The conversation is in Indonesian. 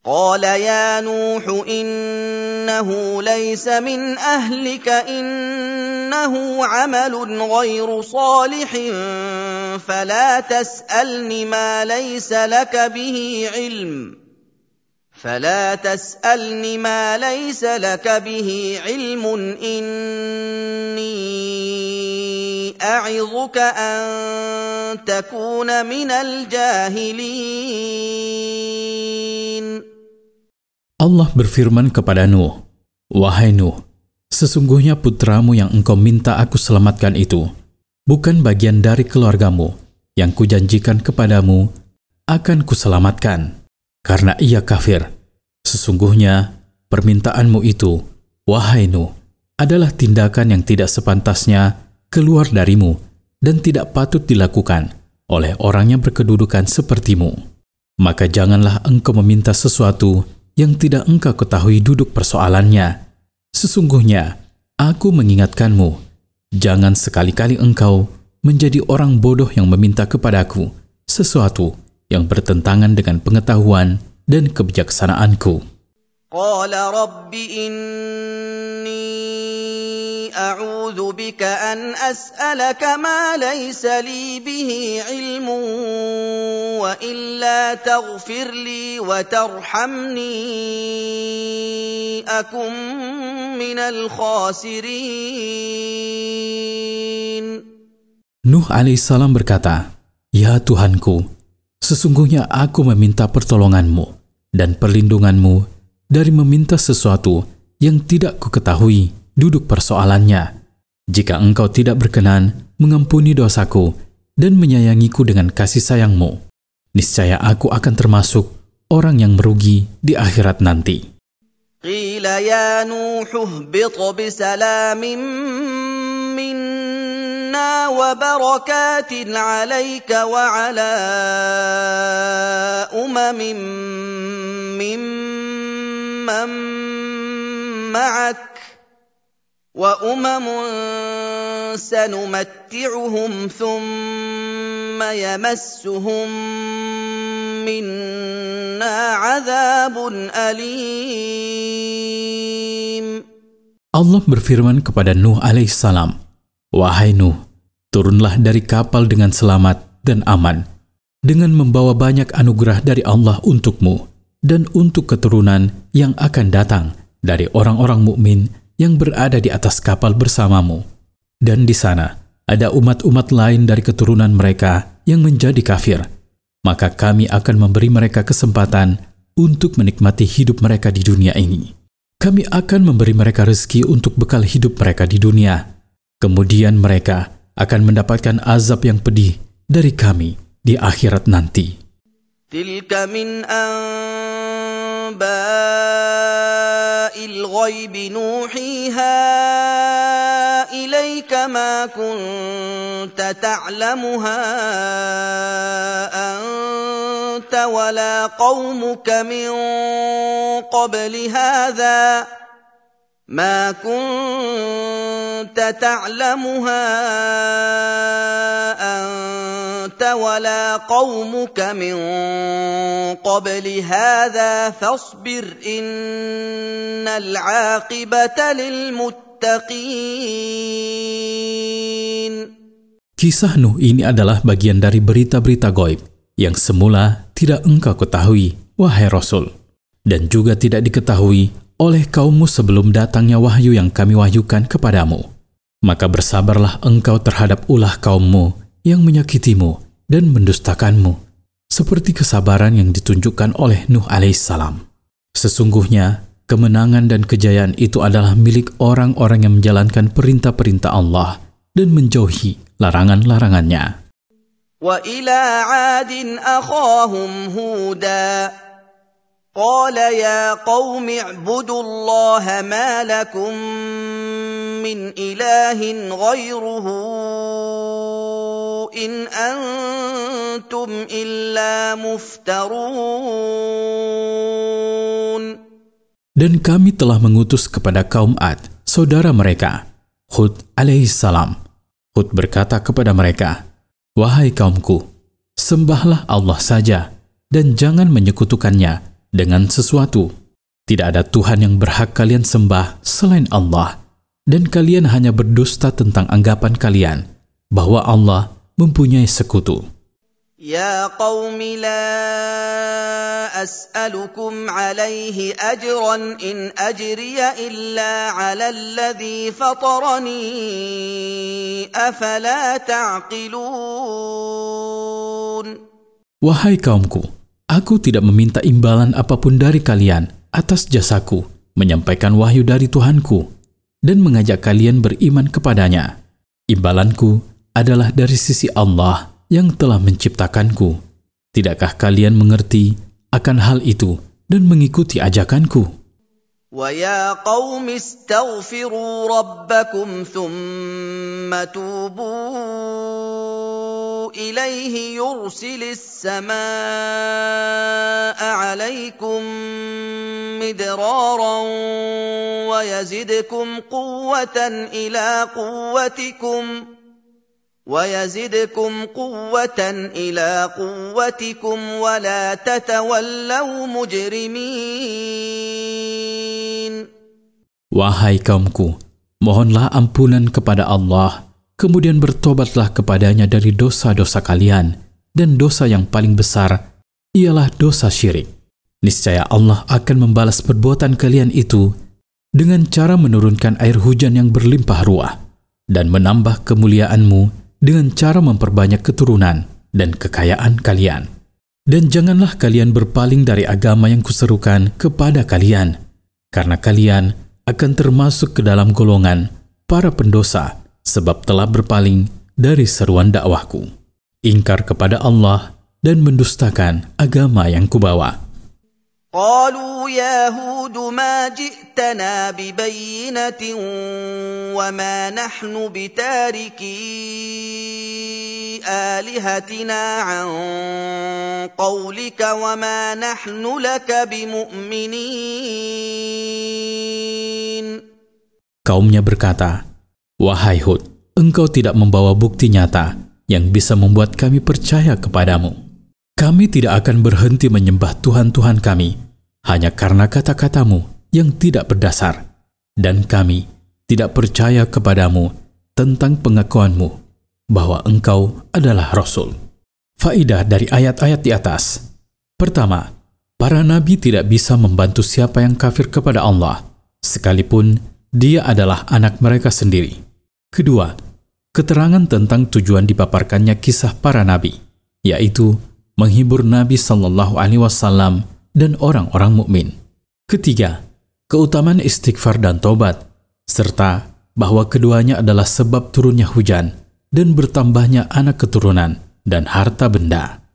قال يا نوح إنه ليس من أهلك إنه عمل غير صالح فلا تسألني ما ليس لك به علم إني أعظك أن تكون من الجاهلين. Allah berfirman kepada Nuh, "Wahai Nuh, sesungguhnya putramu yang engkau minta aku selamatkan itu bukan bagian dari keluargamu yang kujanjikan kepadamu akan kuselamatkan, karena ia kafir. Sesungguhnya permintaanmu itu, wahai Nuh, adalah tindakan yang tidak sepantasnya keluar darimu dan tidak patut dilakukan oleh orang yang berkedudukan sepertimu. Maka janganlah engkau meminta sesuatu yang tidak engkau ketahui duduk persoalannya. Sesungguhnya aku mengingatkanmu, jangan sekali-kali engkau menjadi orang bodoh yang meminta kepadaku sesuatu yang bertentangan dengan pengetahuan dan kebijaksanaanku." Qala rabbi inni a'udzu bika an as'alaka ma laysa li bihi ilmun wa illa taghfir li wa tarhamni akum minal khasirin. Nuh alaihissalam berkata, "Ya Tuhanku, sesungguhnya aku meminta pertolonganmu dan perlindunganmu dari meminta sesuatu yang tidak kuketahui duduk persoalannya. Jika engkau tidak berkenan mengampuni dosaku dan menyayangiku dengan kasih sayangmu, niscaya aku akan termasuk orang yang merugi di akhirat nanti." Qila ya Nuh ihbit bisalamin minna wa barakatin alayka wa ala umamin mimman ma'ak wa umamun sanumatti'uhum thumma yamassuhum minna 'adzabun alim. Allah berfirman kepada Nuh alaihissalam, "Wahai Nuh, turunlah dari kapal dengan selamat dan aman, dengan membawa banyak anugerah dari Allah untukmu dan untuk keturunan yang akan datang dari orang-orang mukmin yang berada di atas kapal bersamamu. Dan di sana ada umat-umat lain dari keturunan mereka yang menjadi kafir. Maka kami akan memberi mereka kesempatan untuk menikmati hidup mereka di dunia ini. Kami akan memberi mereka rezeki untuk bekal hidup mereka di dunia. Kemudian mereka akan mendapatkan azab yang pedih dari kami di akhirat nanti." Tilka min anba'il ghaibi nuhiha ilaika ma kunta ta'lamuha anta wala qaumuka min qabli hadha ما كنت تعلمها أنت ولا قومك من قبل هذا فاصبر إن العاقبة للمتقين. Kisah Nuh ini adalah bagian dari berita-berita gaib yang semula tidak engkau ketahui, wahai Rasul, dan juga tidak diketahui oleh kaummu sebelum datangnya wahyu yang kami wahyukan kepadamu. Maka bersabarlah engkau terhadap ulah kaummu yang menyakitimu dan mendustakanmu, seperti kesabaran yang ditunjukkan oleh Nuh alaihissalam. Sesungguhnya kemenangan dan kejayaan itu adalah milik orang-orang yang menjalankan perintah-perintah Allah dan menjauhi larangan-larangannya. Wa ila 'adin akhahum huda قال يا قوم اعبدوا الله ما لكم من إله غيره إن أنتم إلا مفترون. Dan kami telah mengutus kepada kaum Ad, saudara mereka, Hud alaihissalam. Hud berkata kepada mereka, "Wahai kaumku, sembahlah Allah saja dan jangan menyekutukannya dengan sesuatu. Tidak ada Tuhan yang berhak kalian sembah selain Allah, dan kalian hanya berdusta tentang anggapan kalian bahwa Allah mempunyai sekutu. Ya qaumi la as'alukum alaihi ajran in ajriya illa ala alladhi fatarani afala ta'qilun. Wahai kaumku, aku tidak meminta imbalan apapun dari kalian atas jasaku menyampaikan wahyu dari Tuhanku dan mengajak kalian beriman kepadanya. Imbalanku adalah dari sisi Allah yang telah menciptakanku. Tidakkah kalian mengerti akan hal itu dan mengikuti ajakanku? Wa ya qaumi astaghfiru rabbakum thumma tubu ilaihi yursilis samaa'a 'alaikum midraran wa yazidkum quwwatan ila quwwatikum ولا تتولوا مجرمين. Wahai kaumku, mohonlah ampunan kepada Allah, kemudian bertobatlah kepadanya dari dosa-dosa kalian, dan dosa yang paling besar ialah dosa syirik. Niscaya Allah akan membalas perbuatan kalian itu dengan cara menurunkan air hujan yang berlimpah ruah dan menambah kemuliaanmu dengan cara memperbanyak keturunan dan kekayaan kalian. Dan janganlah kalian berpaling dari agama yang kuserukan kepada kalian, karena kalian akan termasuk ke dalam golongan para pendosa sebab telah berpaling dari seruan dakwahku, ingkar kepada Allah dan mendustakan agama yang kubawa. قالوا يا هود ما جئتنا ببينة وما نحن بتاركي آلهتنا عن قولك وما نحن لك بمؤمنين. Kaumnya berkata, "Wahai Hud, engkau tidak membawa bukti nyata yang bisa membuat kami percaya kepadamu. Kami tidak akan berhenti menyembah Tuhan-Tuhan kami hanya karena kata-katamu yang tidak berdasar, dan kami tidak percaya kepadamu tentang pengakuanmu bahwa engkau adalah Rasul." Faidah dari ayat-ayat di atas. Pertama, para nabi tidak bisa membantu siapa yang kafir kepada Allah, sekalipun dia adalah anak mereka sendiri. Kedua, keterangan tentang tujuan dipaparkannya kisah para nabi, yaitu menghibur Nabi SAW dan orang-orang mukmin. Ketiga, keutamaan istighfar dan tobat, serta bahwa keduanya adalah sebab turunnya hujan dan bertambahnya anak keturunan dan harta benda.